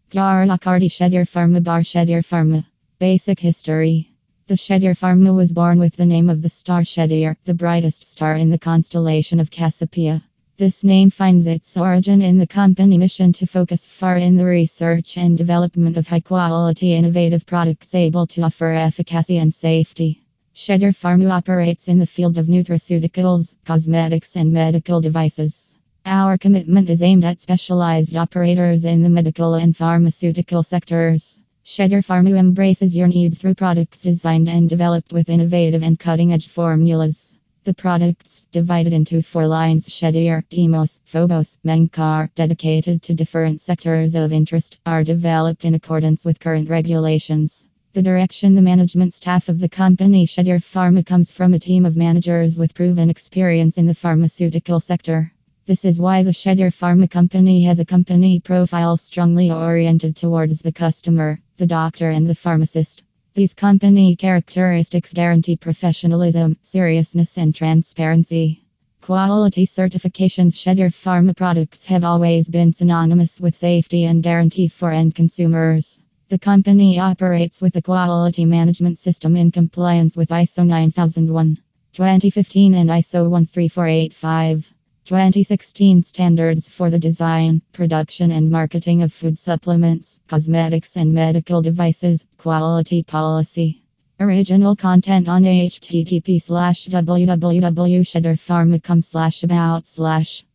Garlakardi Shedder Pharma Bar Shedder Pharma. Basic history. The Shedder Pharma was born with the name of the star Shedder, the brightest star in the constellation of Cassiopeia. This name finds its origin in the company mission to focus far in the research and development of high-quality innovative products able to offer efficacy and safety. Shedder Pharma operates in the field of nutraceuticals, cosmetics and medical devices. Our commitment is aimed at specialized operators in the medical and pharmaceutical sectors. Shedder Pharma embraces your needs through products designed and developed with innovative and cutting-edge formulas. The products, divided into 4 lines: Shedder, Demos, Phobos, Menkar, dedicated to different sectors of interest, are developed in accordance with current regulations. The direction the management staff of the company Shedder Pharma comes from a team of managers with proven experience in the pharmaceutical sector. This is why the Shedder Pharma company has a company profile strongly oriented towards the customer, the doctor and the pharmacist. These company characteristics guarantee professionalism, seriousness and transparency. Quality certifications. Shedder Pharma products have always been synonymous with safety and guarantee for end consumers. The company operates with a quality management system in compliance with ISO 9001, 2015 and ISO 13485. 2016 standards for the design, production and marketing of food supplements, cosmetics and medical devices, quality policy. Original content on http://www.shedderpharma.com/about/